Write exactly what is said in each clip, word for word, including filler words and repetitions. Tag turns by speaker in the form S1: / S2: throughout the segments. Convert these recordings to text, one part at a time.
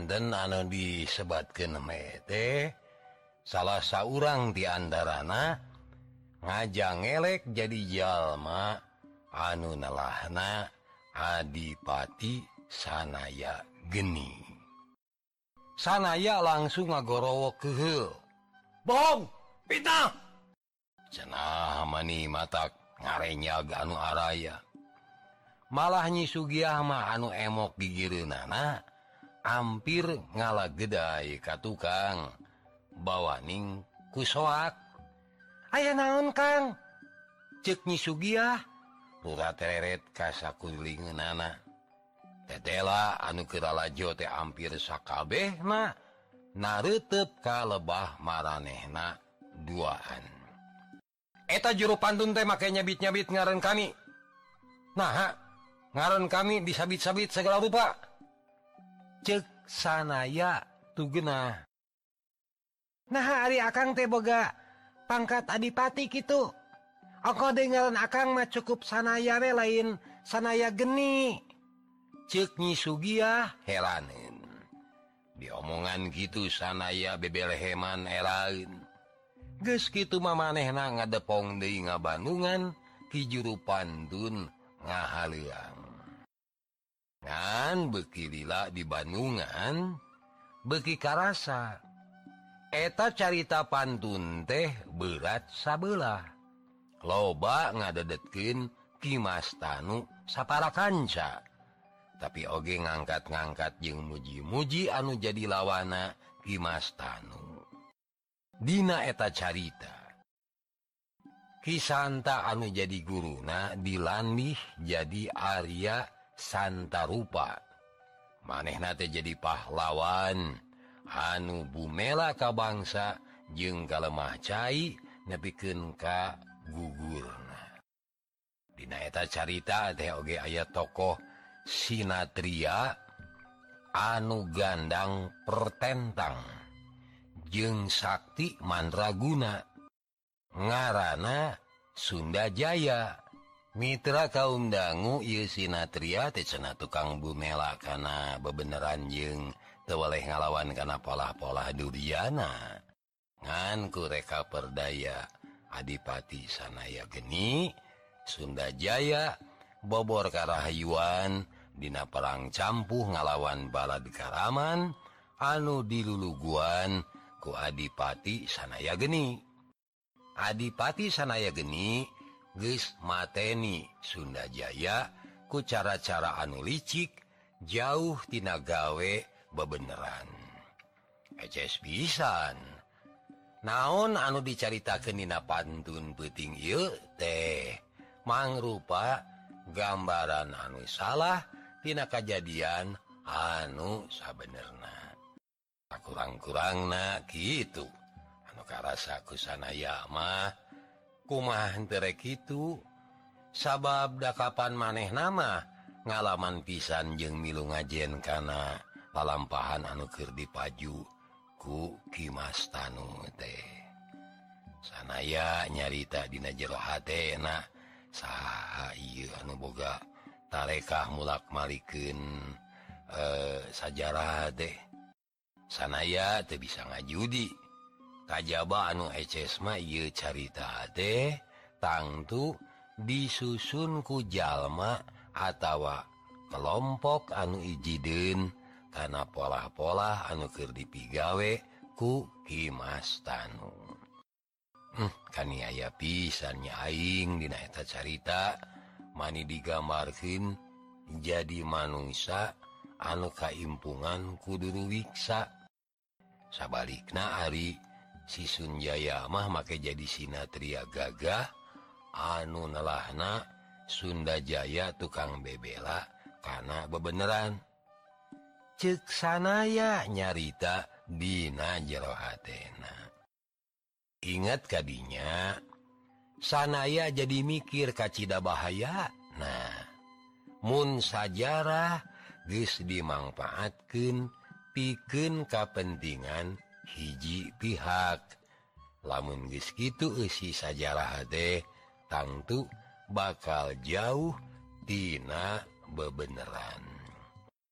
S1: Pinten anu disebatkeun mah teh salah saurang di antarana ngajang elek jadi jalma anu nelahna Adipati Sanaya Geni. Sanaya langsung ngagorowo keheul. Bohong, fitnah. Cenah mani matak ngarenyag anu araya. Malah Nyi Sugiah mah anu emok gigireunana hampir ngalagedai ka tukang bawaning kusoak. Aya naon Kang? Ceuk Nyi Sugiah lurah tereret ka sakulingeunana. Tetela anu keralajo teh hampir sakabehna nareuteup ka lebah maranehna duaan. Eta juru pantun teh make nyabit-nyabit ngaran kami. Nah, ngaran kami disabit-sabit segala rupa. Ceuk Sanaya tugeunah. Nah, ari Akang teh boga pangkat Adipati kitu. Ongko deui ngaran Akang mah cukup Sanaya we lain Sanaya Geni. Ceuk Nyi Sugiah heraneun. Diomongan gitu Sanaya bebeleheman eraeun. Geus kitu mah manehna ngadepong deui ngabandungan ti juru pantun ngahaleuang. Ngan beuki lila di Bandungan beuki karasa. Eta carita pantun teh berat sabelah. Loba ngadedetkeun Ki Mas Tanu saparakanca. Tapi oge ngangkat-ngangkat jeung muji-muji anu jadi lawana Ki Mas Tanu. Dina eta carita Ki Santa anu jadi guruna dilandih jadi Arya Santarupa. Manehna teh jadi pahlawan anu bumela ka bangsa jeung kalemah cai nepikeun ka gugurna. Dina eta carita teh oge aya tokoh Sinatria anu gandang pertentang jeung sakti mandraguna ngaranna Sunda Jaya. Mitra kaum dangu ieu Sinatria teh cenah tukang bumela kana bebeneran jeung teu waleh ngalawan kana polah-polah Duryana. Ngan ku reka perdaya Adipati Sanaya Geni, Sunda Jaya bobor karahayuan dina perang campuh ngalawan balad Karaman anu diluluguan ku Adipati Sanaya Geni. Adipati Sanaya Geni geus mateni Sunda Jaya ku cara-cara anu licik jauh tina gawe bebeneran. Eces pisan. Naon anu dicaritakeun dina pantun peuting ieu teh mangrupa gambaran anu salah tina kajadian anu sabenerna. Kurang-kurangna kitu. Anu karasa ku Sanaya mah kumaha henteu rek kitu. Sabab da kapan manehna mah ngalaman pisan jeung milu ngajen kana lalampahan anu keur dipaju ku Ki Mas Tanu teh. Sanaya nyarita dina jero hatena saha ieu anu boga tarekah mulak-malikeun eh, sajarah teh. Sanaya teu bisa ngajudi. Kajaba anu eces mah ieu carita teh tangtu disusun ku jalma atawa kelompok anu ijideun kana polah-polah anu keur dipigawe ku Ki Mas Tanu. Hmm, kani aya pisan nya aing dina eta carita mani digambarkeun jadi manungsa anu kaimpungan kudu wiksa. Sabalikna ari si Sunjaya mah make jadi Sinatria gagah anu nelahna Sunda Jaya tukang bebela kana bebeneran. Ceuk Sanaya nyarita dina jero hatena. Ingat kadinya Sanaya jadi mikir kacida bahaya. Nah, mun sajarah geus dimangpaatkeun pikeun kapentingan hiji pihak. Lamun geus kitu eusi sajarah teh tangtu bakal jauh tina bebeneran.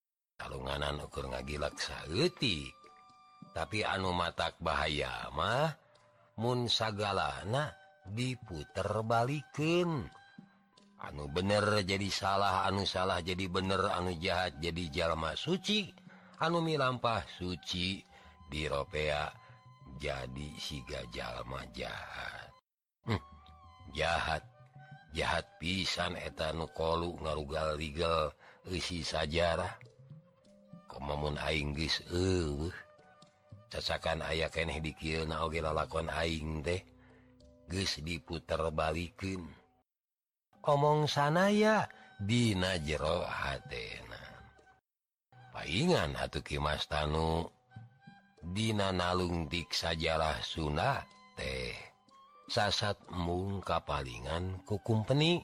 S1: kalunganan ukur ngagilak saeutik. Tapi anu matak bahaya mah mun sagalana diputer balikeun. Anu bener jadi salah, anu salah jadi bener, anu jahat jadi jalma suci, anu milampah suci diropea jadi siga jalma jahat. Hm, jahat jahat pisan eta nu kolu ngarugal-rigel eusi sajarah. Komamun aing geus eueuh cacakan aya keneh di kieuna oge lalakon aing teh geus diputer balikeun. Omong sanaya dina jero hatena. Paingan atuh Ki Mas Tanu dina nalung dik sajarah Sunda teh sasat embung kapalingan ku kumpeni.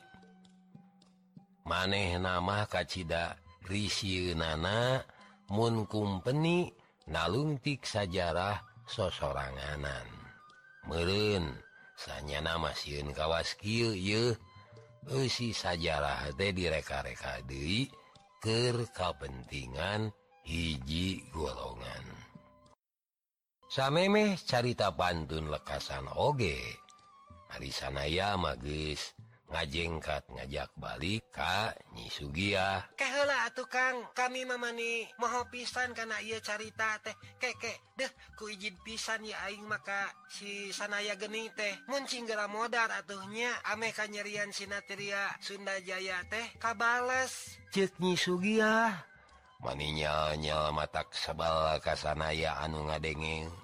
S1: Manehna mah kacida risieunana mun kumpeni nalung dik sajarah sosoranganan. Meureun sanyana mah sieun kawas kieu yeuh. Eusi sajarah teh direka-reka deui keur kapentingan hiji golongan. Samemeh carita pantun lekasan oge. Ari sanaya mah geus ngajengkat ngajak balik ka Nyi Sugiah.
S2: Keh heula atuh Kang, kami mamani moho pisan kana ieu carita teh. Kek kek deuh ku ijin pisan ya aing maka si sanaya geni teh. Mun cinggera modar atuhnya ameh kanyerian sinatria Sunda Jaya teh kabales.
S1: Ceuk Nyi Sugiah. Mani nyal-nyal matak sebal ka sanaya anu ngadenge.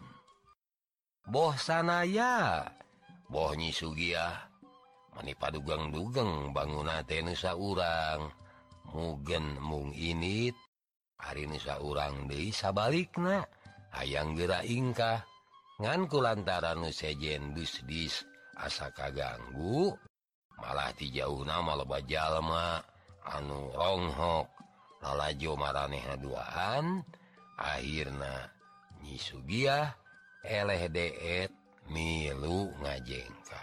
S1: Boh sanaya, boh Nyi Sugiah. Mani padugang-dugang banguna teh nu saurang. Mugen mung init ari nu saurang deui sabalikna hayang geura ingkah. Ngan kulantaran nu sejen dus-dis asa kaganggu malah ti jauhna maloba jalma anu ronghok lalajo maranehna duaan. Akhirna Nyi Sugiah eleh deet milu ngajengkat.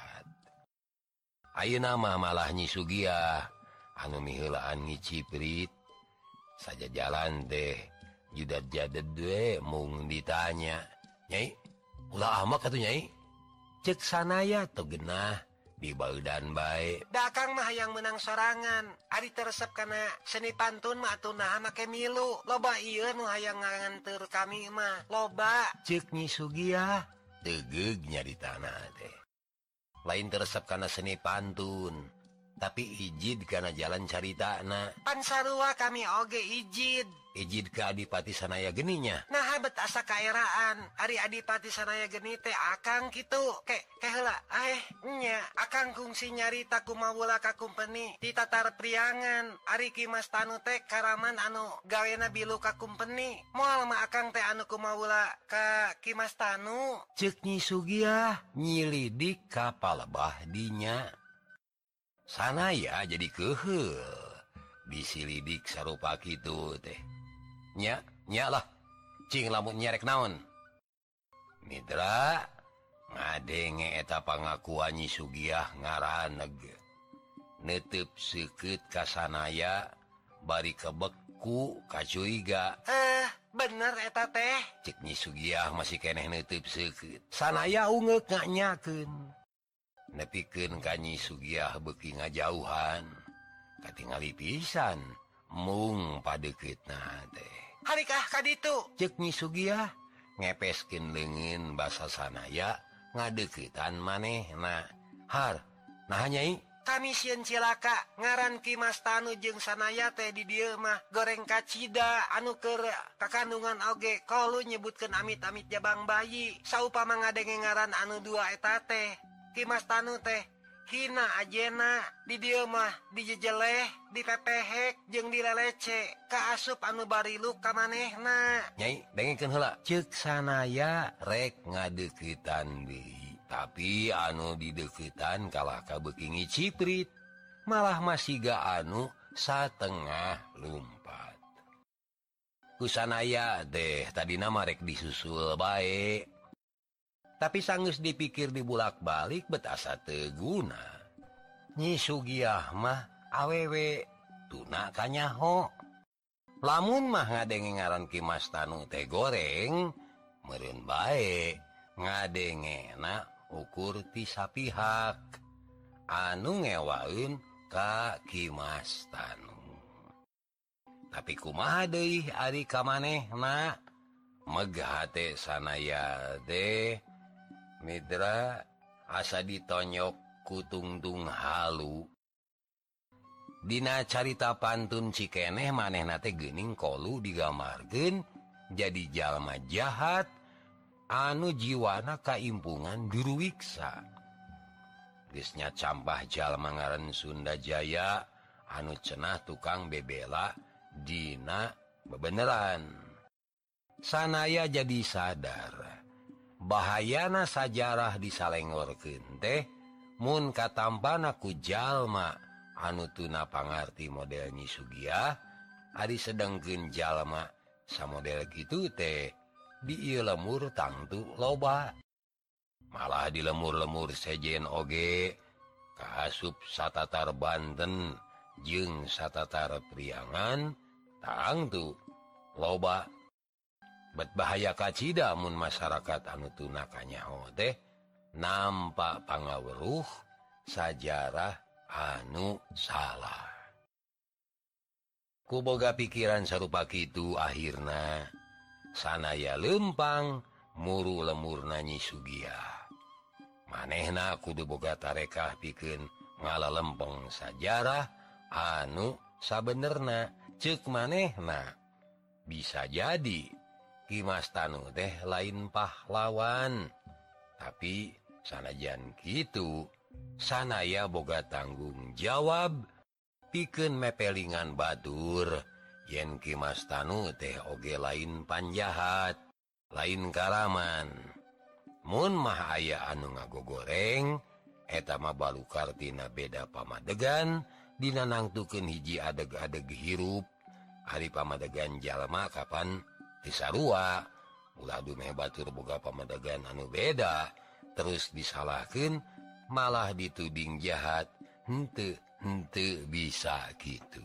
S1: Ayeuna mah malah Nyi Sugiah anu miheulaan ngiciprit saja jalan teh judat jadet we mung ditanya, "Nyai, ulah amak atuh Nyai?" Ceuk sanaya teu genah dibaeudan bae.
S2: Da Kang mah hayang menang sorangan. Ari teresep kana seni pantun mah atuh naha make milu. Loba ieu nu hayang nganteur kami mah. Loba.
S1: Ceuk Nyi Sugiah tegeug nyaritana teh. Lain teresep kana seni pantun, tapi ijid kana jalan caritana.
S2: Pan sarua kami oge ijid.
S1: Ijid ka Adipati Sanaya geninya.
S2: Nah habet asa kaeraan. Ari Adipati Sanaya geni teh akang kitu. Ke ke heula eh nya akang kungsi nyarita kumaha ka kumpeni di tatar priangan. Ari Ki Mas Tanu teh karaman anu gawena bilu ka kumpeni. Moal mah akang teh anu kumaha ka Ki Mas Tanu.
S1: Ceuk Nyi Sugiah nyilidik ka palebah dinya. Sanaya jadi keheul disilidik sarupa kitu teh. Nya, nya lah, cing lamun nyerek naon. Mitra, ngadenge eta pangakuan Nyi Sugiah ngaraneg. Neuteub seukeut ka sanaya, bari kebeku ka curiga.
S2: Eh, bener eta teh.
S1: Cek Nyi Sugiah masih keneh neuteub seukeut. Sanaya ungeuk nganyakeun. Nepikeun ka Nyi Sugiah beuki ngajauhan. Katingali pisan, mung padeuketna teh.
S2: Harikah kaditu?
S1: Ceuk Nyi Sugiah ngepeskeun leungeun basa sanaya ngadeuketan manehna. Har, naha Nyai?
S2: Kami sieun cilaka ngaran Ki Mas Tanu jeung sanaya teh di dieu mah goreng kacida anu keur kakandungan oge kalu nyebutkeun amit-amit jabang bayi. Saupama ngadenge ngaran anu dua eta teh Ki Mas Tanu teh hina ajena di dieu mah dijejeleh, dipepehek jeung dilelece ka asup anu barilu ka manehna.
S1: Nyai, dengekeun heula. Ceuk sanaya rek ngadeuketan deui, tapi anu dideuketan kalah kabeuki ngiciprit, malah masiga anu satengah lumpat. Kusanaya teh tadina mah rek disusul bae. Tapi sanggeus dipikir dibulak-balik bet asa teu guna. Nyi Sugiah mah awewe tuna kanyaho. lamun mah ngadenge ngaran Ki Mas Tanu teh goreng meureun bae ngadengena ukur ti sapihak anu ngewaeun ka Ki Mas Tanu. Tapi kumaha deui ari ka manehna megah teh sanaya teh Midra asa ditonyok ku tungtung halu. Dina carita pantun cikeneh manehna teh geuning kolu digambarkeun jadi jalma jahat anu jiwana kaimpungan duruwiksa. Geus nya campah jalma ngaran Sunda Jaya anu cenah tukang bebela dina bebeneran. Sanaya jadi sadar bahayana sajarah disalengorkeun teh mun katampana ku jalma anu tuna pangarti model Nyi Sugiah ari sedengkeun jalma samodel kitu teh di ieu lemur tangtu loba. Malah di lemur-lemur sejen oge kaasup satatar Banten jeung satatar Priangan tangtu loba. Bet bahaya kacida mun masyarakat anu tuna kanyaho teh nampak pangaweruh sajarah anu salah. Ku boga pikiran sarupa kitu akhirna sanaya lempang muru lemurna Nyi Sugiah. Manehna kudu boga tarekah pikeun ngalalempeng sajarah anu sabenerna. Ceuk manehna bisa jadi Ki Mas Tanu teh lain pahlawan, tapi sanajan kitu sanaya boga tanggung jawab pikeun mepelingan batur yen Ki Mas Tanu teh oge lain panjahat, lain karaman. Mun mah aya anu ngagogoreng eta mah balukar tina beda pamadegan dina nangtukeun hiji adeg-adeg hirup ari pamadegan jalma kapan tisarua. Ulah dumeh batur boga pamadegan anu beda terus disalahkeun malah dituding jahat. Henteu henteu bisa kitu.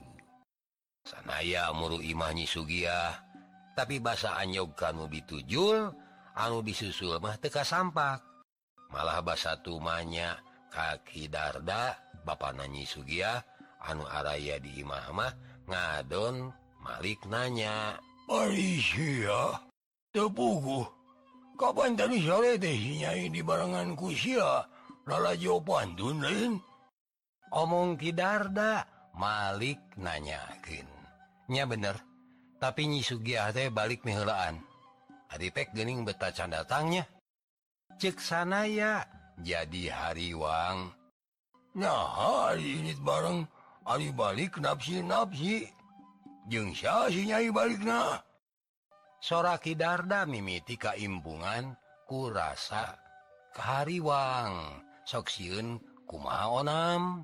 S1: Sanaya muru imah Nyi Sugiah tapi basa anyog kanu ditujul anu disusul mah teu kasampak. Malah basa tumanya ka Ki Darda bapana Nyi Sugiah anu araya di imah mah ngadon malik nanya, "Ari sia teu puguh kapan tadi sore teh si Nyai di barengan ku sia lalajo pantun lain?" Omong Ki Darda malik nanyakeun, "Nya bener, tapi Nyi Sugiah teh balik miheulaan. Ari pek geuning beta can datangnya." Ceuk sanaya jadi hariwang. "Nah, ari ini bareng ari balik napsi-napsi. Jeung sia si Nyai balikna?" Sora Ki Darda mimiti kaimpungan ku rasa kahariwang. Sok sieun kumaha onam?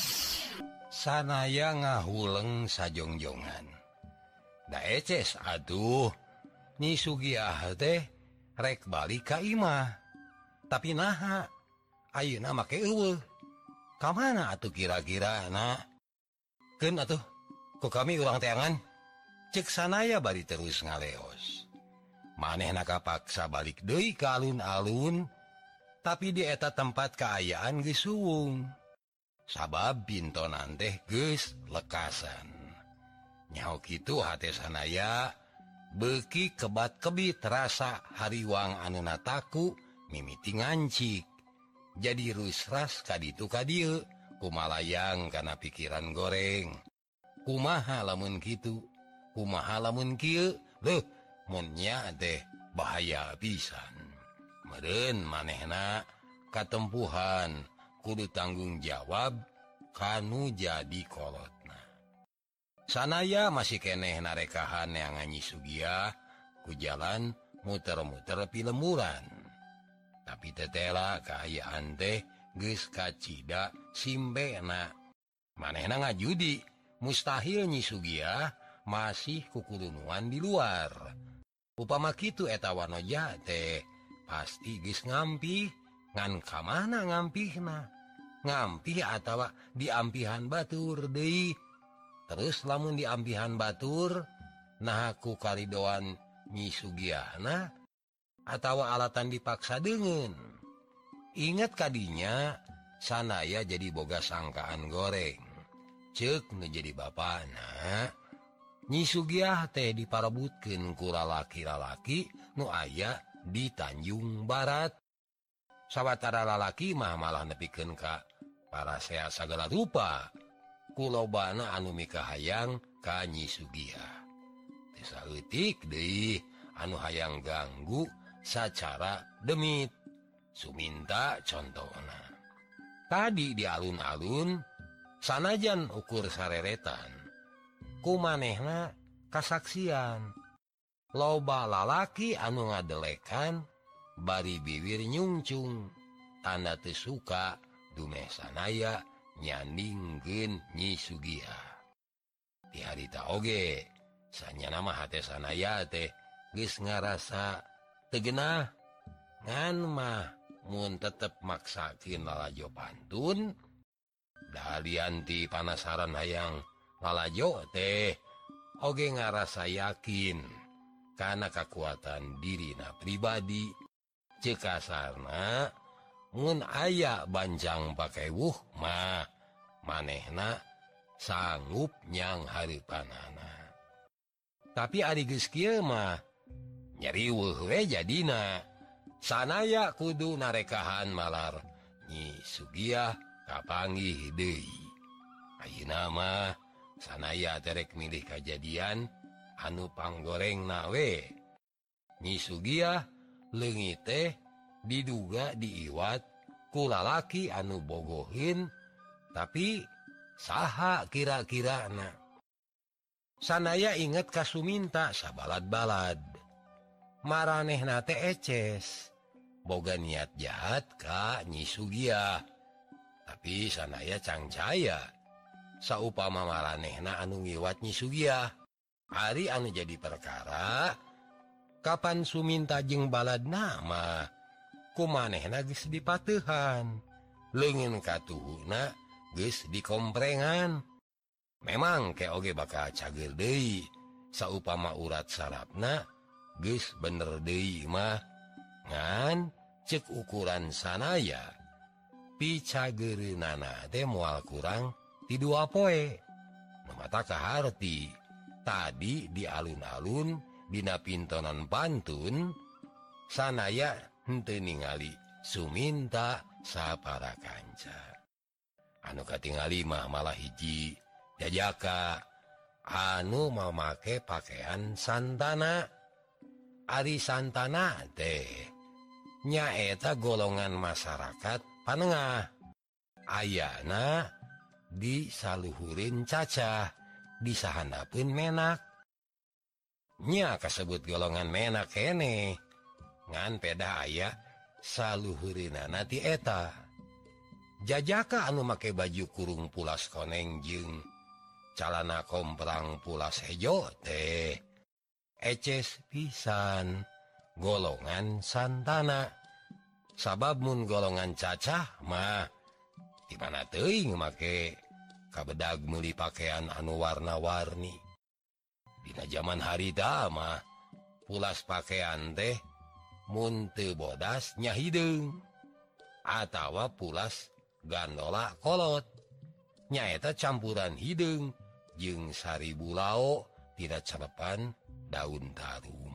S1: Sanaya ngahuleng sajongjongan. Da eces atuh Nyi Sugiah teh rek balik ka imah. Tapi naha ayeuna make eueuh. Ka mana atuh kira-kira na? Keun atuh ku kami urang teangan. Ceuk sanaya bari terus ngaleos. Manehna kapaksa balik deui ka alun-alun. Tapi di eta tempat kaayaan geus suwung. Sabab pintonan teh geus lekasan. Nyaho kitu hate sanaya beuki kebat-kebit rasa hariwang anu nataku mimiti ngancik. Jadi rusras kaditu kadieu kumalayang kana pikiran goreng. Kumaha lamun kitu? Kumaha lamun kieu? Leuh, mun nya teh bahaya pisan. Meureun manehna katempuhan kudu tanggung jawab kanu jadi kolotna. Sanaya masih keneh narekahan yang Nyi Sugiah ku jalan muter-muter pilemuran. Tapi tetela kaayaan teh geus kacida simbena. Manehna ngajudi mustahil Nyi Sugiah masih kukudunuan di luar. Upama kitu eta wanoja teh pasti geus ngampih. Ngan kamana ngampihna? Ngampih atawa diampihan batur deui. Terus lamun diampihan batur nahaku karidoan Nyi Sugiahna atawa alatan dipaksa dengan. Ingat kadinya sanaya jadi boga sangkaan goreng. Cek nu jadi bapana Nyi Sugiah teh diparabutkeun ku lalaki-lalaki nu aya di Tanjung Barat. Sawatara lalaki mah malah nepikeun ka parasea sagala rupa. Kulobana anu mikahayang ka Nyi Sugiah. Teu saeutik deui anu hayang ganggu sacara demit. Suminta contohna. Tadi di alun-alun sanajan ukur sareretan. Kumanehna kasaksian. Loba lalaki anu ngadelekan bari bibir nyungcung. Tanda teu suka dumeh sanaya nyandingkeun Nyi Sugiah. Di harita oge sanyana mah hate sanaya teh geus ngarasa teu geunah. Ngan mah mun tetep maksakeun lalajo pantun, dalian ti panasaran hayang lalajo teh oge ngarasa yakin kana kakuatan dirina pribadi. Ceuk kasarna mun aya banjang pakewuh mah manehna sanggup nyang hareupanana. Tapi ari geus kieu mah nyariweuh we jadina. Sanaya kudu narekahan malar Nyi Sugiah kapanggih deui. Ayeuna mah sanaya terek milih kajadian anu panggorengna we. Nyi Sugiah leungit teh diduga diiwat ku lalaki anu bogohin, tapi saha kira-kirana. Sanaya inget ka Suminta sabalad-balad. Maranehna teh eces. Boga niat jahat ka Nyi Sugiah. Tapi sanaya cangcaya. Saupama maranehna anu ngiwat Nyi Sugiah. Hari anu jadi perkara, kapan Suminta jeung baladna mah kumanehna geus dipateuhan. Leungeun katuhuna geus dikomprengan. Memang ke oge bakal cager deui. Saupama urat sarafna geus bener deui mah. Ngan cek ukuran sanaya picageunana teh moal kurang ti dua poe. Nu mata kaharti tadi di alun-alun dina pintonan pantun sanaya henteu ningali Suminta sapara kanca. Anu katingali mah malah hiji jajaka anu mamake pakaian santana. Ari santana teh nyaeta golongan masyarakat panengah. Ayana di saluhurin cacah, di sahandapeun menak. Nya kasebut golongan menak kene. Ngan peda aya saluhurinana ti eta. Jajaka anu make baju kurung pulas koneng jeung calana komprang pulas hejo teh eces pisan golongan santana. Sabab mun golongan cacah mah di mana teuing make kabedag meuli pakaian anu warna-warni. Dina zaman harita mah pulas pakaian teh mun teu bodas nya hideung atawa pulas gandola kolot. Nyaeta campuran hideung jeung saribu lao tidak celepan daun tarum.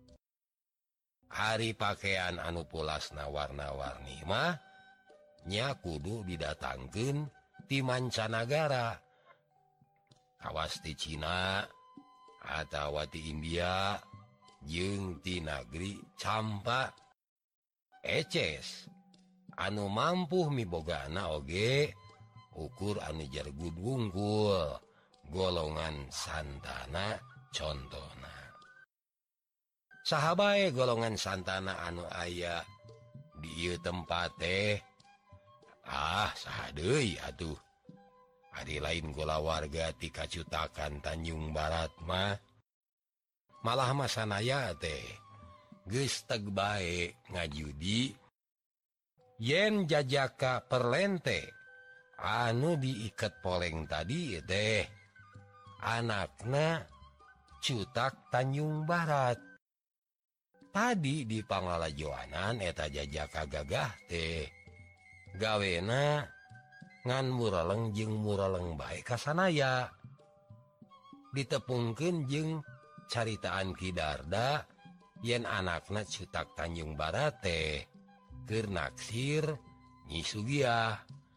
S1: Hari pakaian anu pulasna warna-warni mah nya kudu didatangkeun ti mancanagara. Kawas ti Cina atawa ti India jeung ti nagri campa. Eces anu mampu mibogana oge ukur anu jargud wungkul golongan santana contona. Saha bae golongan santana anu aya di ieu tempat teh. Ah, saha deui atuh. Ari lain gola warga ti Kacutakan Tanjung Barat mah malah mah sanaya teh geus teg bae ngajudi yen jajaka perlente anu diiket poleng tadi teh anakna Cutak Tanjung Barat. Tadi di Panglalajoanan eta jajaka gagah teh gawena ngan muraleng jeung muraleng bae ka sanaya. Ditepungkeun jeung caritaan Ki Darda yen anakna Cutak Tanjung Barat teh keur naksir Nyi Sugiah.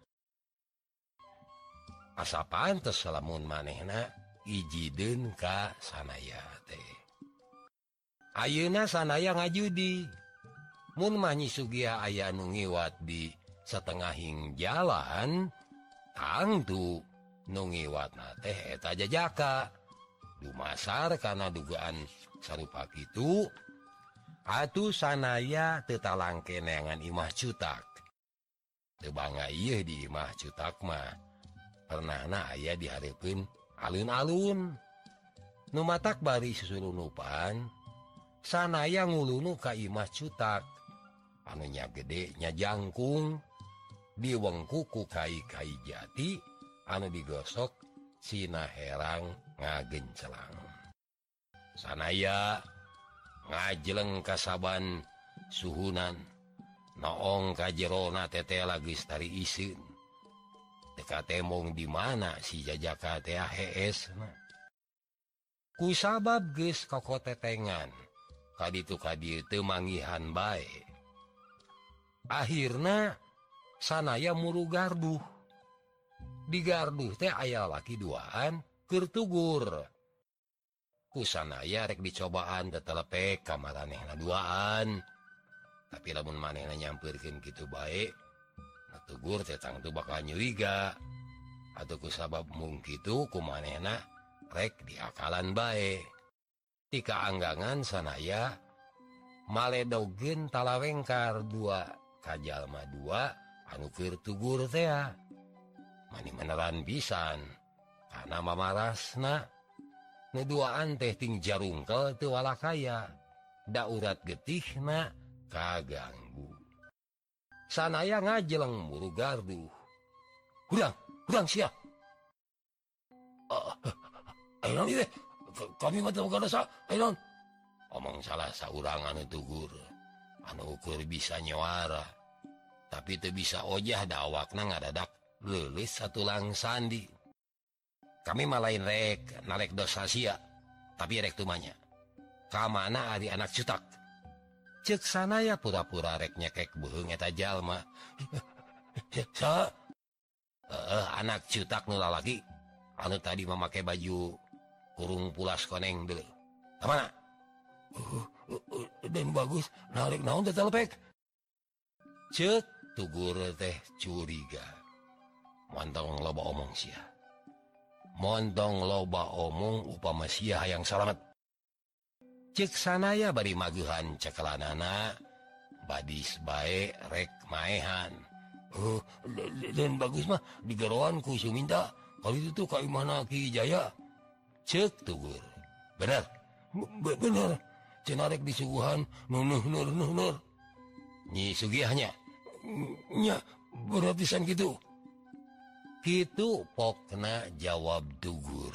S1: Asa pantes lamun manehna ijieun ka sanaya teh. Ayeuna sanaya ngajudi. Mun mah Nyi Sugiah aya nu ngiwat di satengahing jalan, tangtu nu ngiwatna teh eta jajaka. Dumasar kana dugaan sarupa kitu, atuh sanaya teu talang keneangan imah Cutak. Teu bangga ieu di imah Cutak mah. Pernahna aya dihareupeun alun-alun. Nu matak bari susurunupan, sanaya ngulunu ka imah Cutak. Anu nya gede nya jangkung, diwengku ku kai-kai jati, anu digosok sina herang ngagencelang. Sanaya ngajeleng kasaban suhunan, noong ka jerona teteh lagi stari isin. Teka temong di mana si jajaka teh hees na. Ku sabab geus kokotetengan, kaditu kadieu teu manggihan bae. Akhirna sanaya muru garduh. Di garduh teh aya laki duaan keur tugur. Ku sanaya rek dicobaan tetelepek ka maranehna duaan. Tapi lamun manehna nyampeurkeun kitu bae, tugur teh tangtu bakal nyuriga. Atuh ku sabab mung kitu ku manehna rek diakalan bae. Ti kaanggangan sanaya maledogeun talawengkar dua ka jalma dua anu keur tugur teh. Mani beneran pisan kana mamarasna. Nu duaan teh ting jarungkel teu walakaya, da urat getihna kaganggu. Sanaya ngajeleng muru garduh. Hurang, hurang sia. Uh, Ainon ieu kami mah teu boga dosa, Ainon. Omong salah saurang anu tugur, anu ukur bisa nyawara. Tapi teu bisa ojah da awakna ngadadak leulis satulang sandi. Kami mah lain rek nalek dosa sia, tapi rek tumanya. Kamana ari anak Cutak? Ceuk sanaya pura-pura rek nyekek beuheung eta jalma. Sa? Heeh, anak Cutak nu lalaki anu tadi mamake baju kurung pulas koneng deuleu. Kamana? Uh, uh, uh, dan bagus narik naon teh telepek. Ceuk tugur teh curiga. Montong loba omong sia. Montong loba omong upama sia hayang salamet. Cek sanaya bari maguhan cekelanana, badis bae rek maehan. Oh, dan bagus mah digeroan ku Suminta. Kalau itu tuh ka imahna Ki Jaya. Cek tugur. Bener? B bener. Cenah rek disuguhan nunuh nur nuh nur. Nyi Sugiahnya. Nya, bener pisan kitu. Kitu pokna jawab tugur.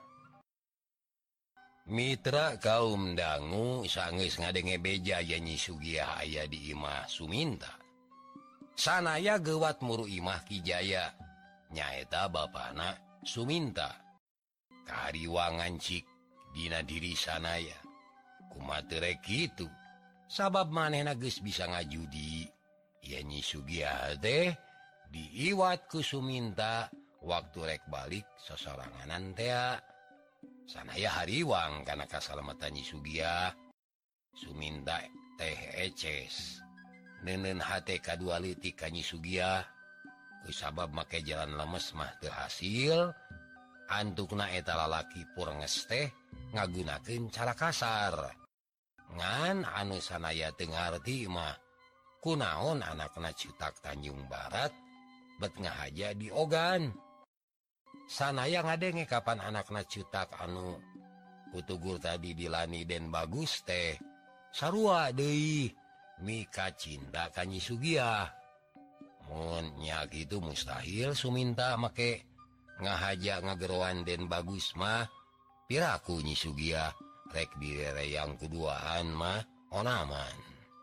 S1: Mitra kaum dangu sanggeus ngadenge beja ya Nyi Sugiah aya di imah Suminta. Sanaya gewat muru imah Ki Jaya. Nyaeta bapana Suminta. Kariwangan cik dina diri sanaya. Kumaha rek kitu. Sabab manehna geus bisa ngajudi. Ya Nyi Sugiah teh diiwat ku Suminta waktu rek balik sosoranganan teh. Sanaya hariwang kana kasalamatan Nyi Sugiah. Suminta teh eces. Neuneun hate kadua leutik ka Nyi Sugiah. Ku sabab make jalan lemes mah teu hasil. Antukna eta lalaki purenges teh ngagunakeun cara kasar. Ngan anu sanaya teu ngarti mah kunaon anakna Cutak Tanjung Barat bet ngahaja di ogan. Sanaya ngadenge kapan anakna Cutak anu kutugur tadi dilani Den Bagus teh sarua deui mika cinta ka Nyi Sugiah. Mun nya kitu mustahil Suminta make ngahaja ngageroan Den Bagus mah piraku Nyi Sugiah rek direre yang keduaan mah onaman.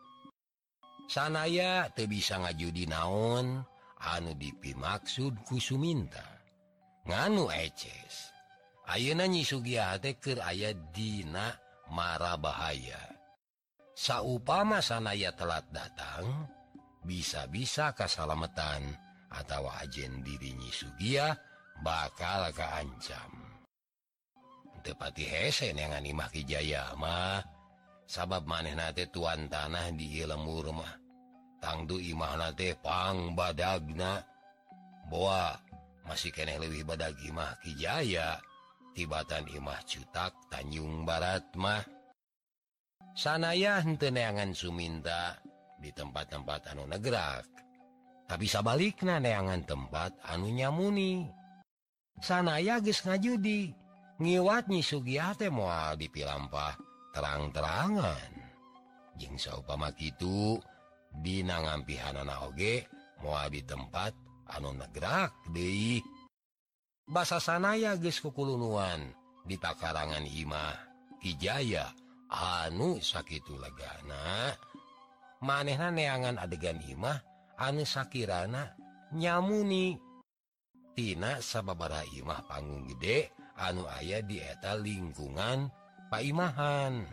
S1: Sanaya teu bisa ngajudi naon anu dipimaksud ku Suminta. Nganu eces. Ayeuna Nyi Sugiah teh keur aya dina mara bahaya. Saupama sanaya telat datang, bisa-bisa kasalametan atawa ajen diri Nyi Sugiah bakal kaancam. Teu pati hese neangan Imah Ki Jaya mah, sabab manehna teh tuan tanah di ieu lembur mah. Tangtu imahna teh pang badagna. Boa masih keneh leuwih badag Imah Ki Jaya tibatan Imah Cutak Tanjung Barat mah. Sanaya henteu neangan Suminta di tempat-tempat anu negrak, tapi sabalikna neangan tempat anu nyamuni. Sanaya geus ngajudi, ngiwat Nyi Sugiah teh moal dipilampah terang-terangan. Jeung saupama kitu dina ngampihanana oge moal di tempat anu negrak deui. Basa sanaya geus kukulunuan di takarangan Imah Ki Jaya anu sakitu legana. Manehna neangan adegan Imah anu sakirana nyamuni tina sababaraha Imah panggung gede anu aya di eta lingkungan paimahan.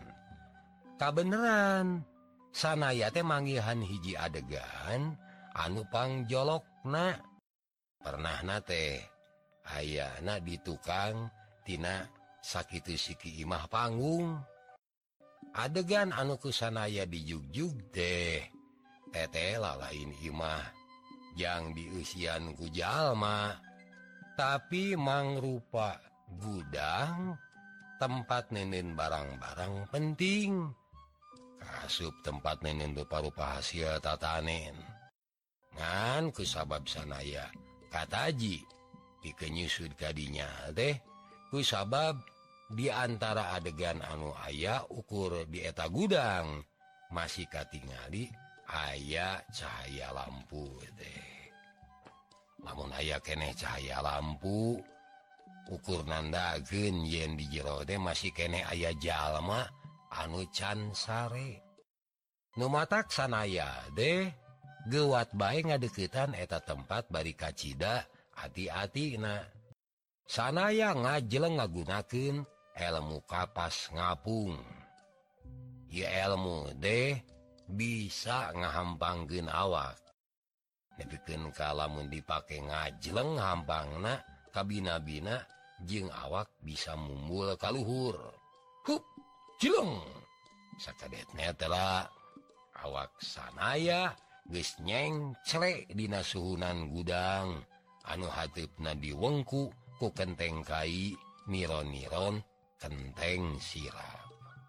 S1: Kabeneran sanaya teh manggihan hiji adegan anu pangjolokna. Pernahna teh ayana di tukang tina sakitu siki Imah panggung. Adegan anu ku sanaya dijugjug teh teteh lain Imah jang diusian ku jalma, tapi mangrupa gudang tempat nenen barang-barang penting. Kasup tempat nenen rupa-rupa hasil tatanen. Ngan kusabab sanaya kataji dikenyusud kadinya teh kusabab di antara adegan anu aya ukur di eta gudang masih katingali aya cahaya lampu teh. Lamun aya keneh cahaya lampu ukur nandageun yen di jero teh masih keneh aya jalma anu can sare. Nu matak sanaya deh geuwat bae ngadeuketan eta tempat bari kacida hati-hatina. Sanaya ngajleng ngagunakeun elmu kapas ngapung. Ieu elmu deh bisa ngahampangkeun awak. Nepikeun ka lamun dipake ngajleng hampangna kabina-bina jeung awak bisa mumbul ka luhur. Hup, jeleng. Sakadetna telah awak sanaya geus nyengcle dina suhunan gudang anu hateupna diwengku ku kenteng kai niron-niron kenteng sirap.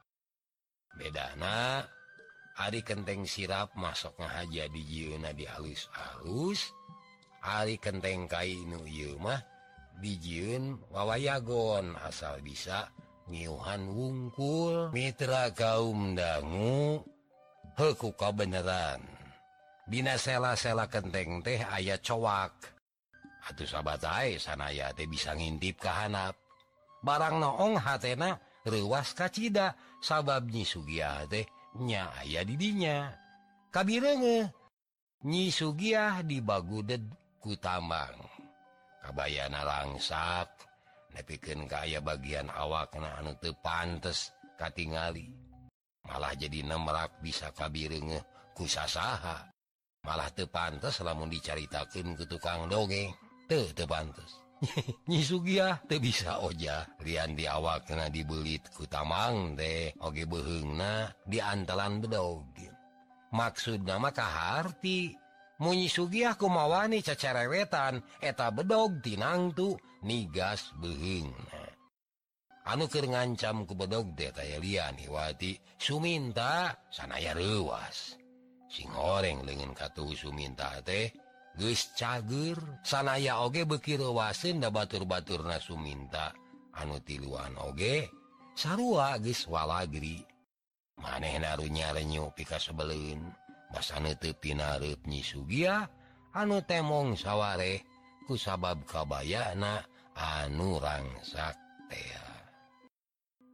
S1: Bedana ari kenteng sirap masok ngahaja di jieuna di alus-alus, ari kenteng kai nu ieu mah dijieun wawayagon asal bisa ngiuhan wungkul. Mitra kaum dangu, heuku kabeneran dina sela-sela kenteng teh aya cowak. Atuh sabatae sanaya teh bisa ngintip ka handap. Barang noong hatena reuwas kacida sabab Nyi Sugiah teh nya aya di dinya. Kabireungeuh Nyi Sugiah dibaguded ku tambang. Kabayana langsak nepikeun ka aya bagian awakna anu teu pantes katingali. Malah jadi nemrak bisa kabireungeuh ku sasaha. Malah teu pantes lamun dicaritakeun ku tukang dongeng. Teu teu pantes. Nyi Sugiah teu bisa oja lian di awakna dibelit ku tamang teh oge beuheungna di antalan bedog. Maksudna mah kaharti mun Nyi Sugiah kumawani cacerewetan eta bedog tinangtu nigas beuheungna. Anu keur ngancam ku bedog teh taya lian hiwati Suminta sanaya reuwas. Sing horeng leungeun katuh Suminta teh geus cager. Sanaya oge beuki reuwaseun da batur-baturna Suminta anu tiluan oge sarua geus walagri. Manehna runya renyu pika sebeleun basana teu pinareup Nyi Sugiah anu temong sawareh ku sabab kabayana anu rangsak teh.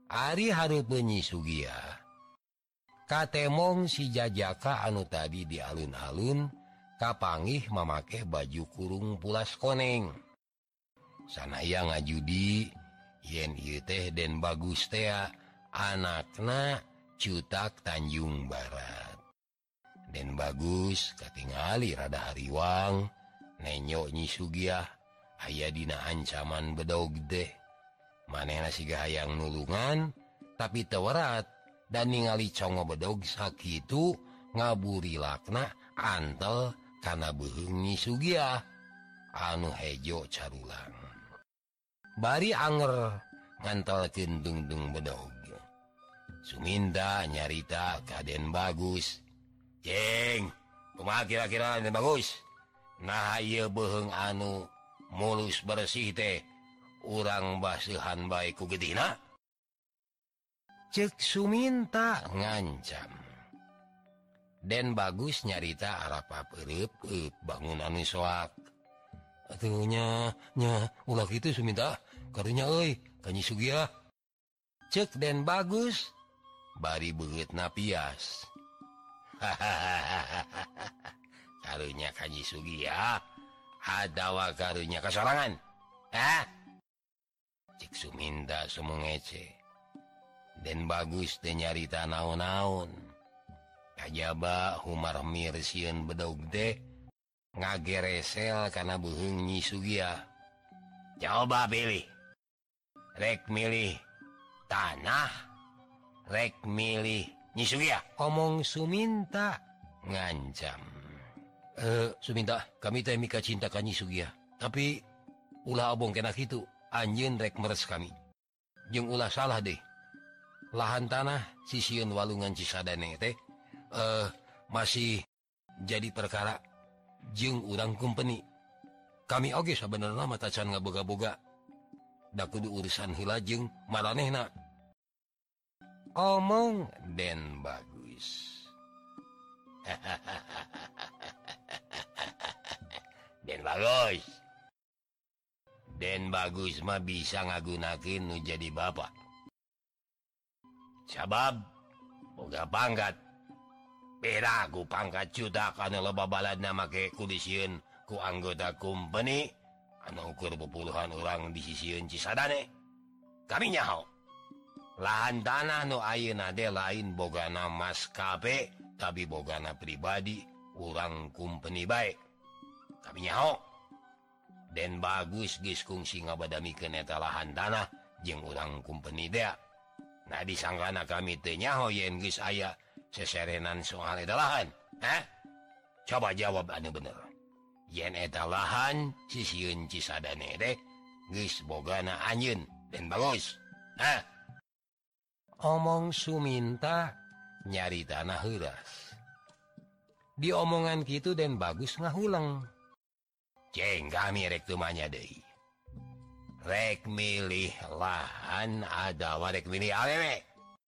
S1: Ari harup Nyi Sugiah katemong si Jajaka anu tadi di alun-alun kapanggih memakai baju kurung pulas koneng. Sanaya ngajudi yen ieu teh Den Bagus teh anakna Cutak Tanjung Barat. Den Bagus katingali rada hariwang nenyo Nyi Sugiah aya dina ancaman bedog teh. Manehna siga hayang nulungan tapi teu werat dan ningali congo bedog sakitu ngaburilakna antel kana beuheung Nyi Sugiah anu hejo carulang. Bari anger ngantelkeun dungdung bedog. Suminta nyarita ka Den Bagus. Ceng, kumaha kira-kira Den Bagus? Nah ieu beuheung anu mulus bersih teh urang baseuhan bae ku geutina? Ceuk Suminta ngancam. Den Bagus nyarita arapa pereup eup bangun anu soak. Atuh nya nya ulah kitu Suminta karunya euy ka Nyi Sugiah. Ceuk Den Bagus bari beungeutna pias. Karunya ka Nyi Sugiah adawa karunya kasorangan. Hah? Cek Suminta semu ngece. Den Bagus teh nyarita naon-naon. Kajaba humar mirsieun bedog teh ngageresel kana beuheung Nyi Sugiah. Coba pilih. Rek milih tanah, rek milih Nyi Sugiah. Omong Suminta ngancam. Eh, Suminta, kami teh mika cinta ka Nyi Sugiah. Tapi ulah obong kena kitu, anjeun rek meres kami. Jeung ulah salah deh. Lahan tanah sisieun walungan Cisadane teh eh masih jadi perkara jeung urang kumpeni. Kami oge sabenerna mah tacan ngaboga-boga. Da kudu urusan heula jeung maranehna. Omong Den Bagus. Den Bagus. Den Bagus mah bisa ngagunakeun nu jadi bapak. Sabab boga pangkat. Beda ku pangkat Cutak anu loba baladna make kudisieun ku anggota kumpeni anu ukur pepuluhan urang di sisieun Cisadane. Kami nyaho. Lahan tanah nu ayeuna teh lain bogana maskape tapi bogana pribadi urang kumpeni bae. Kami nyaho. Den Bagus geus kungsi ngabadamikeun eta lahan tanah jeung urang kumpeni teh. Nah disangkana kami teh nyaho yen geus aya seserenan soal eta lahan. Hah? Coba jawab anu bener. Yen eta lahan sisieun Cisadane teh geus bogana anjeun Den Bagus. Hah? Omong Suminta nyaritana heuras. Di omongan kitu Den Bagus ngahuleng. Ceng kami rek teu manya deui. Rek milih lahan adawa rek milih awewe.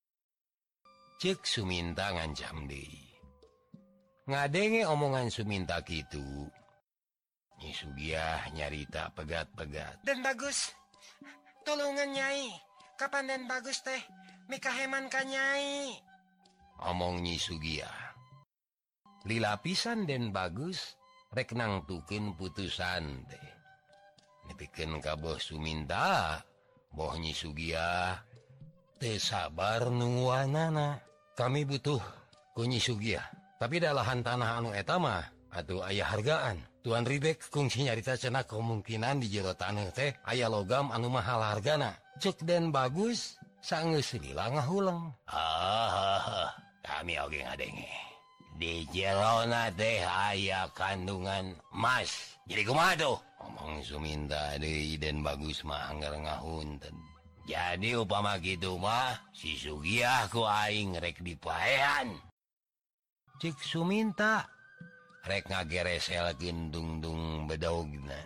S1: Ceuk Suminta ngancam deui. Ngadenge omongan Suminta kitu, Nyi Sugiah nyarita pegat-pegat.
S2: Den Bagus, tulungan Nyai. Kapan Den Bagus teh mika heman ka Nyai?
S1: Omong Nyi Sugiah. Lila pisan Den Bagus rek nangtukeun putusan teh. Nepikeun ka Boh Suminta, Boh Nyi Sugiah teu sabar nungguanana. Kami butuh ku Nyi Sugiah. Tapi da lahan tanah anu eta mah atuh aya hargaan. Tuan Ribek kungsi nyarita cenah kemungkinan di jero taneuh teh aya logam anu mahal hargana. Ceuk Den Bagus saeunggeus lila ngahuleng. Ah, kami oge ngadenge. Di jerona teh aya kandungan emas. Jadi kumaha tuh? Omong Suminta deui Den Bagus mah anggar ngahunten. Jadi upama kitu mah si Sugiah ku aing rek dipaehan. Cik Suminta rek ngagereselkeun dungdung bedogna.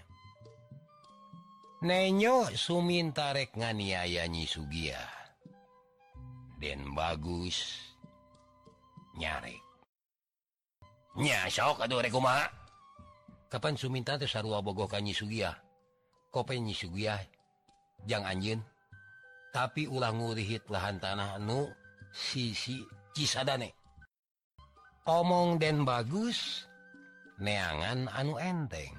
S1: Nenyo Suminta rek nganiaya Nyi Sugiah. Den Bagus nyarek. Nya sok atuh rek kumaha? Kapan Suminta teh sarua bogoh ka Nyi Sugiah? Kope Nyi Sugiah jang anjeun. tapi ulang ngurihit lahan tanah anu sisi Cisadane. Omong den bagus neangan anu enteng.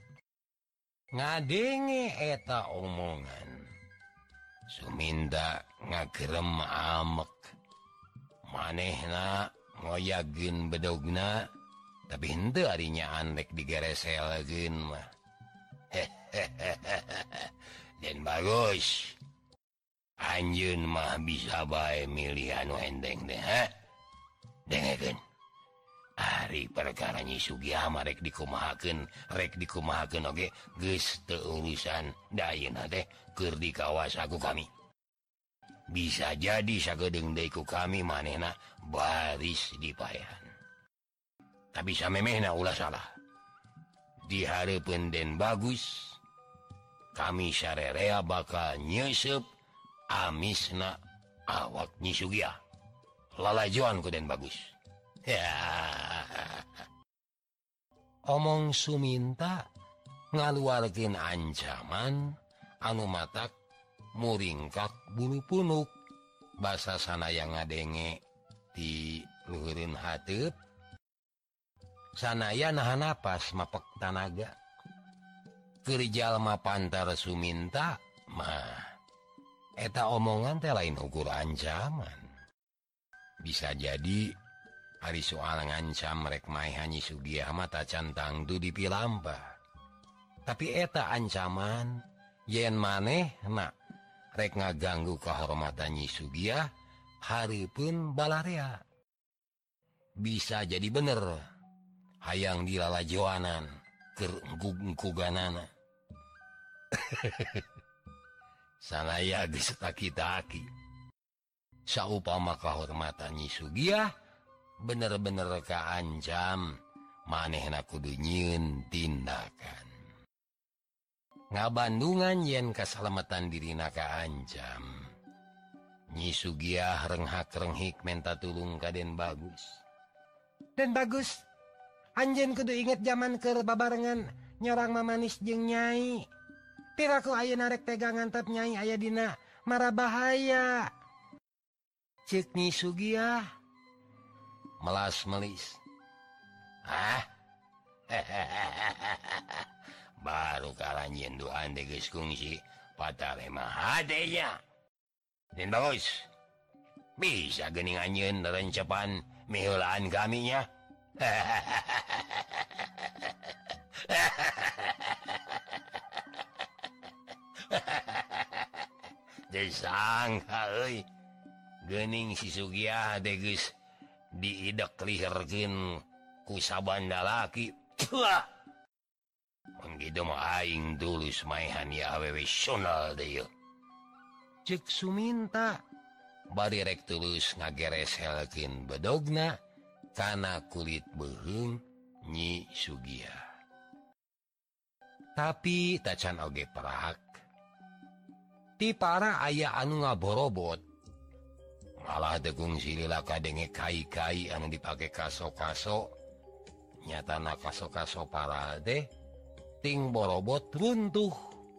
S1: Ngadenge eta omongan Suminta ngagerem amek. Manehna ngoyageun bedogna tapi henteu arinya andek digereselkeun mah. Den bagus. Anjeun mah bisa bae milih anu enteng teh, ha? Dengekeun. Ari perkara Nyi Sugih mah rek dikumahakeun, rek dikumahakeun oge geus teu urusan. Da ayeuna teh keur dikawas ku kami. Bisa jadi sagedeung deui ku kami manehna baris dipaehan. Tapi samemehna ulah salah. Di hareupeun Den Bagus, kami sarerea bakal nyeusup amisna awak Nyi Sugih. Lalajoan ku Den Bagus. Omong Suminta ngaluarkeun ancaman anu matak muringkak bulu punuk. Basa sanaya ngadenge di luhureun hateup. Sanaya nahan napas mapek tanaga. Keur jalma pantar Suminta mah eta omongan teh lain ukur ancaman. Bisa jadi ari soal ngancam rek maehan Nyi Sugih mah tacan tangtu dipilampah. Tapi eta ancaman yen manehna rek ngaganggu kahormatan Nyi Sugih hareupeun balarea. Bisa jadi bener hayang dilalajoanan keur engkug-engkuganana. Sanaya geus taki-taki. Saupama kahormatan Nyi Sugih bener-bener kaancam, manehna kudu nyieun tindakan. Ngabandungan yen kasalamatan dirina kaancam, Nyi Sugih renghak-renghik menta tulung ka Den Bagus.
S2: Den Bagus, anjeun kudu inget zaman keur babarengan nyerang Mamanis jeung Nyai. Piraku ayeuna rek tega ngantep Nyai aya dina mara bahaya. Ceuk Nyi Sugih
S1: melas melis. Ah, baru kalanjien doan de geus kungsi patale mah hadenya. Den Bagus, bisa geuning anjeun rencepan miheulaan kaminya. Disangka euy, geuning si Sugih teh geus diidek liherkeun ku sabanda laki. Puah. Mun kitu mah aing tulus maehan ya awewe sional deui.
S2: Ceuk Suminta
S1: Bari rek tulus ngagereselkeun bedogna kana kulit beuheung Nyi Sugih. Tapi tacan oge perak. Ti para aya anu ngaborobot. Malah degung silila kadenge kai-kai anu dipake kaso-kaso. Nyatana kaso-kaso para teh ting borobot runtuh.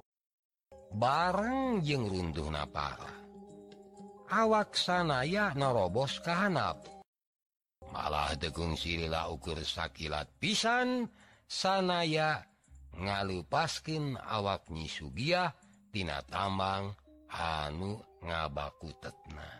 S1: Bareng jeung runtuhna para, awak sanaya narobos ka handap. Malah degung silila ukur sakilat pisan sanaya ngalupaskeun awak Nyi Sugih tina tambang anu ngabakutetna.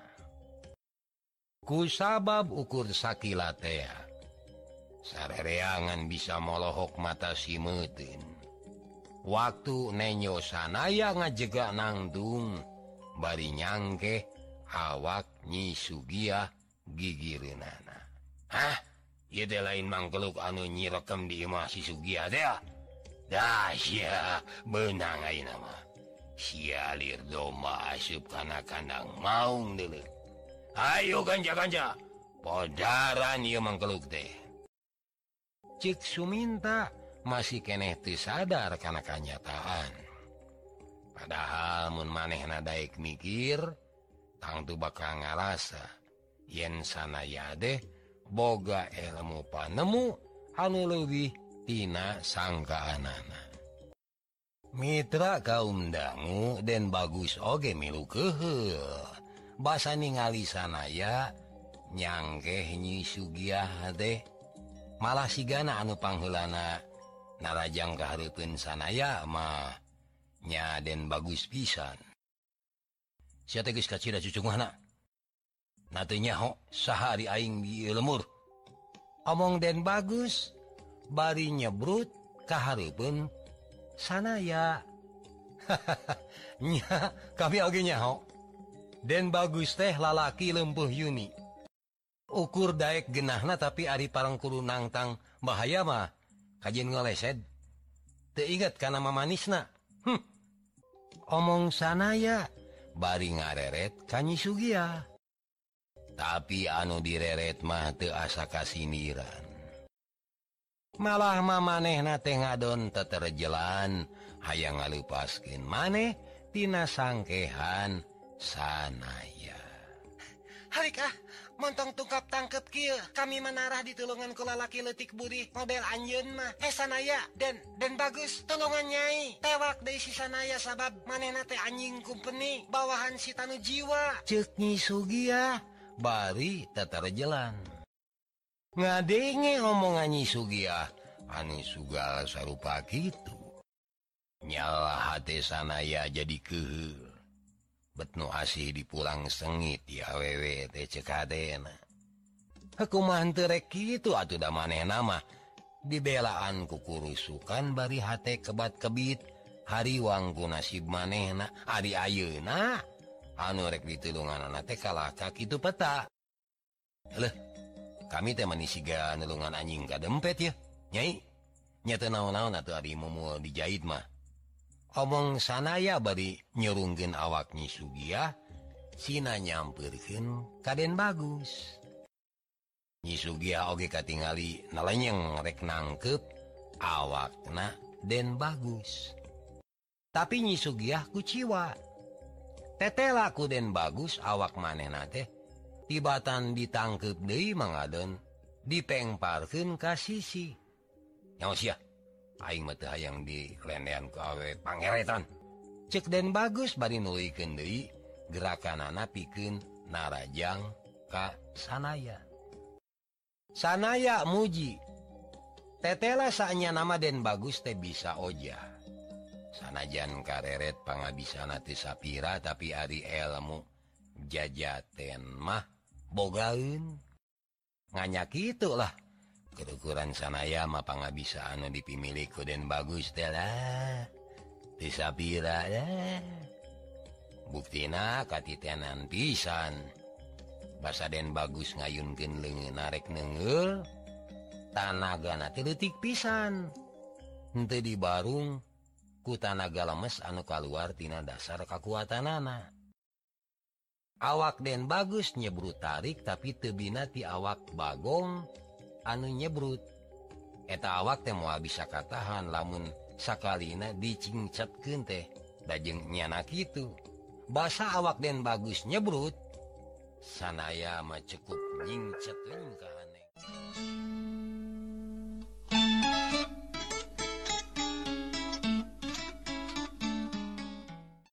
S1: Kusabab ukur sakilat teh sarereangan bisa molohok mata simeuteun. Waktu nenyo sanaya ngajega nangtung bari nyangke awak Nyi Sugih gigireunana. Hah? Ieu teh lain mangkeluk anu nyirekem di imah si Sugih teh. Dah sia beunang ayeuna mah. Sialir domba asup kana kandang maung deuleu. Ayo ganja-ganja, podaran ieu mangkeluk teh. Ceuk Suminta masih keneh teu sadar kana kanyataan. Padahal mun manehna daek mikir, tangtu bakal ngarasa yen sanaya teh boga ilmu panemu anu leuwih tina sangkaanana. Mitra kaum dangu Den bagus oge milu keheul. Basa ningali sanaya nyangkeh Nyi Sugiah teh. Malah sigana anu pangheulana narajang kahareupeun sanaya mah nya Den bagus pisan. Sia teh geus kacida cucungna. Na teu nyaho saha ari aing di lemur. Omong Den bagus bari nyebrut kahareupeun sanaya. Nya kami oge nyaho. Den bagus teh lalaki leumpeuh yuni. Ukur daek genahna tapi ari parangkuru nangtang bahaya mah kajen ngelesed. Teu inget kana mamanisna. Hm. Omong sanaya bari ngareret ka Nyi Sugiah. Tapi anu direret mah teu asa kasindiran. Malah mamanehna teh ngadon teterjelan hayang ngalupaskeun maneh tina sangkehan sanaya.
S2: Harika, montong tungkap tangkep kieu, kami menarah di tulungan ku lalaki leutik budi model anjeun mah. Eh sanaya, Den, Den bagus, tulungan nyai. Tewak deui si sanaya sabab manehna teh anjing kumpeni bawahan si tanu jiwa.
S1: Ceuk Nyi Sugiah bari teterjelan. Ngadenge omongan Nyi Sugiah anu sugal sarupa kitu. Nyalah hate sanaya jadi keheul. Bet nu asih dipulang sengit ya awewe teh ceuk hadena. Kumaha teu rek kitu atuh da manehna mah dibelaan ku kurusukan bari hate kebat-kebit hariwang ku nasib manehna. Ari ayeuna anu rek ditulunganana teh kalaka kitu peta. Leuh, kami teh manisiga nulungan anjing kadempet ya, Nyai. Nya teu naon-naon atuh ari mumul dijahit mah. Omong sanaya bari nyurungkeun awak Nyi Sugiah, sina nyampeurkeun ka Den bagus. Nyi Sugiah oge katingali nalenyeng rek nangkep awakna Den bagus. Tapi Nyi Sugiah kuciwa. Tetela ku Den bagus awak manehna teh tibatan ditangkep deui mangadon dipengparkeun ka sisi. Nyaos ya, aing mah teu hayang dilendean ku awe pangeretan. Ceuk Den bagus bari nuluykeun deui gerakanana pikeun narajang ka sanaya. Sanaya muji. Tetela saenya nama Den bagus teh bisa oja. Sanajan kareret pangabisana teu sapira tapi ari elmu jajaten mah bogaeun. Nganya kitu lah. Kerukuran sanaya mah pangabisa anu dipimili ku Den bagus teh lah. Teu sapira lah. Buktina katitenan pisan. Basa Den bagus ngayunkeun leungeun arek neungeul. Tanagana teh leutik pisan. Henteu dibarung ku tanaga lemes anu kaluar tina dasar kakuatanana. Awak Den bagus nyebrut tarik tapi teu bina ti awak bagong anu nyebrut. Eta awak teh moal bisa katahan lamun sakalina dicingcetkeun teh dajeng nyana kitu. Basa awak Den bagus nyebrut, sanaya mah cukup nyingcet leung ka haneng.